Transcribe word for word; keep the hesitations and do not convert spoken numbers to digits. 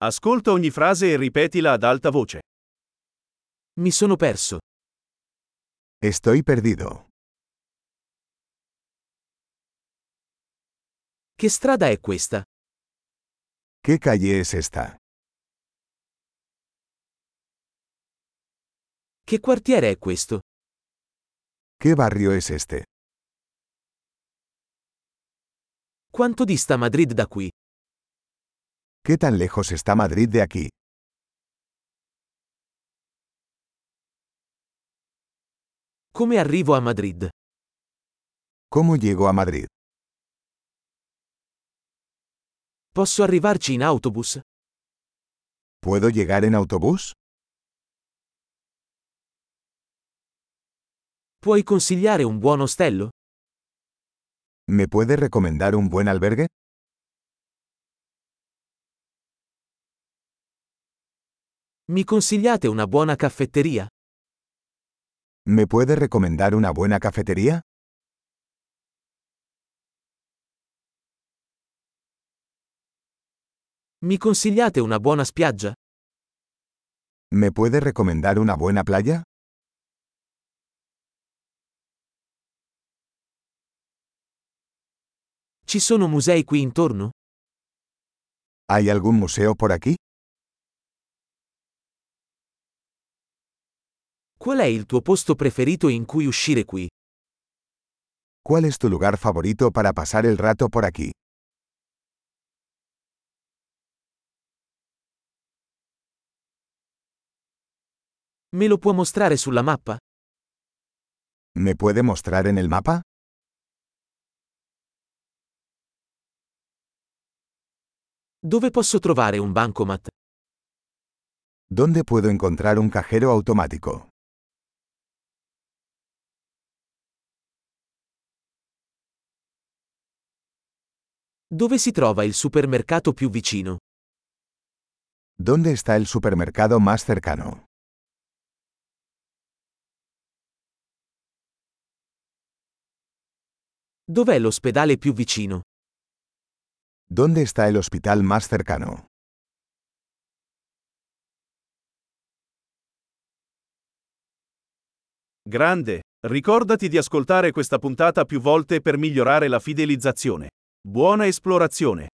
Ascolta ogni frase e ripetila ad alta voce. Mi sono perso. Estoy perdido. Che strada è questa? ¿Qué calle es esta? Che quartiere è questo? ¿Qué barrio es este? Quanto dista Madrid da qui? ¿Qué tan lejos está Madrid de aquí? Come arrivo a Madrid? ¿Cómo llego a Madrid? Posso arrivarci in autobus? ¿Puedo llegar en autobús? Puoi consigliare un buon ostello? ¿Me puede recomendar un buen albergue? Mi consigliate una buona caffetteria? ¿Me puede recomendar una buena cafetería? Mi consigliate una buona spiaggia? ¿Me puede recomendar una buena playa? Ci sono musei qui intorno? ¿Hay algún museo por aquí? Qual è il tuo posto preferito in cui uscire qui? ¿Cuál es tu lugar favorito para pasar el rato por aquí? Me lo può mostrare sulla mappa? ¿Me puede mostrar en el mapa? Dove posso trovare un bancomat? ¿Dónde puedo encontrar un cajero automático? Dove si trova il supermercato più vicino? ¿Dónde está el supermercado más cercano? Dov'è l'ospedale più vicino? ¿Dónde está el hospital más cercano? Grande, ricordati di ascoltare questa puntata più volte per migliorare la fidelizzazione. Buona esplorazione!